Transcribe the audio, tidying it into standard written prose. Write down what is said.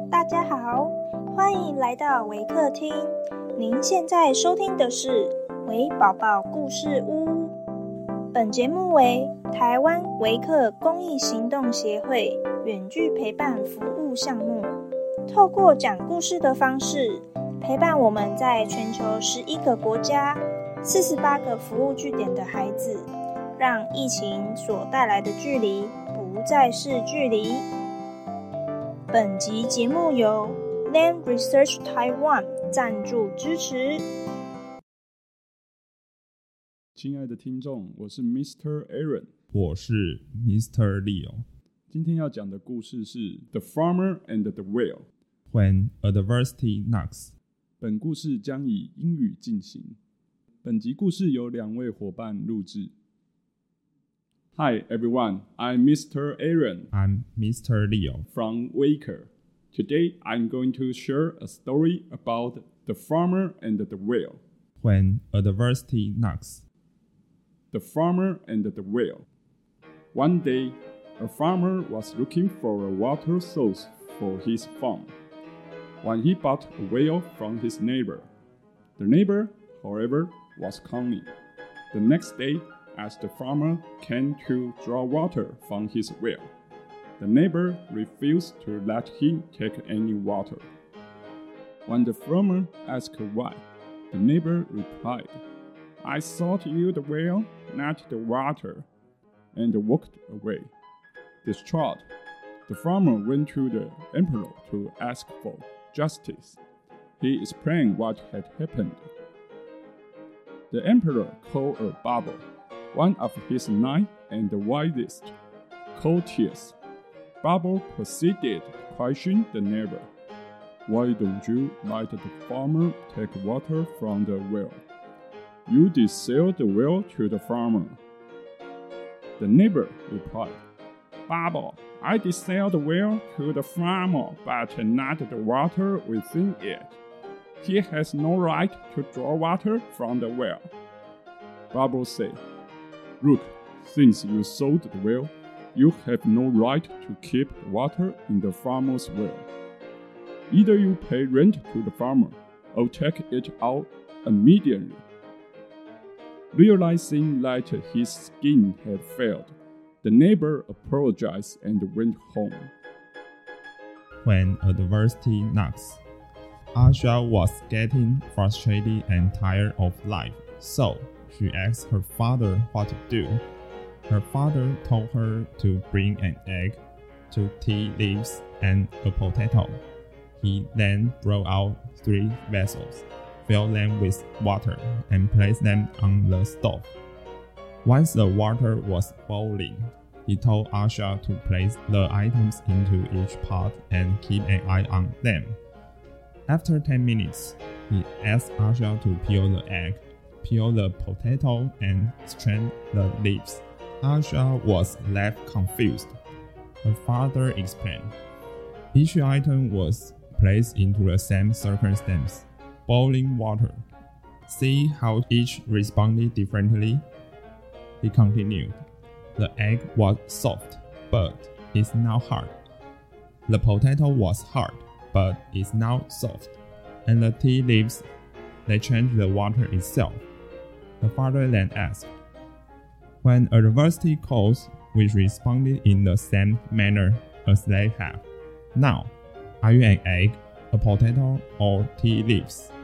大家好，欢迎来到微客厅。您现在收听的是微宝宝故事屋。本节目为台湾微客公益行动协会远距陪伴服务项目，透过讲故事的方式，陪伴我们在全球11个国家、48个服务据点的孩子，让疫情所带来的距离不再是距离。本集节目由 Land Research Taiwan 赞助支持。 亲爱的听众，我是 Mr. Aaron， 我是 Mr. Leo。 今天要讲的故事是 The Farmer and the Whale When Adversity Knocks。 本故事将以英语进行。本集故事由2位伙伴录制。Hi everyone, I'm Mr. Aaron. I'm Mr. Leo from Waker. Today I'm going to share a story about the farmer and the whale. When Adversity Knocks. The farmer and the whale. One day, a farmer was looking for a water source for his farm when he bought a whale from his neighbor. The neighbor, however, was cunning. The next day, as the farmer came to draw water from his well, the neighbor refused to let him take any water. When the farmer asked why, the neighbor replied, "I thought you the well, not the water," and walked away. Distraught, the farmer went to the emperor to ask for justice. He explained what had happened. The emperor called a barber, one of his 9 and the wisest courtiers. Barber proceeded to question the neighbor. "Why don't you let the farmer take water from the well? You did sell the well to the farmer." The neighbor replied, "Barber, I did sell the well to the farmer, but not the water within it. He has no right to draw water from the well." Barber said, "Look, since you sold the well, you have no right to keep water in the farmer's well. Either you pay rent to the farmer or take it out immediately." Realizing that his scheme had failed, the neighbor apologized and went home. When Adversity Knocks. Asha was getting frustrated and tired of life, so she asked her father what to do. Her father told her to bring an egg, 2 tea leaves, and a potato. He then brought out 3 vessels, filled them with water, and placed them on the stove. Once the water was boiling, he told Asha to place the items into each pot and keep an eye on them. After 10 minutes, he asked Asha to peel the egg, peel the potato, and strain the leaves. Asha was left confused. Her father explained. Each item was placed into the same circumstance, boiling water. See how each responded differently? He continued. The egg was soft, but is now hard. The potato was hard, but is now soft. And the tea leaves, they changed the water itself. The father then asked, "When adversity calls, we responded in the same manner as they have. Now, are you an egg, a potato, or tea leaves?"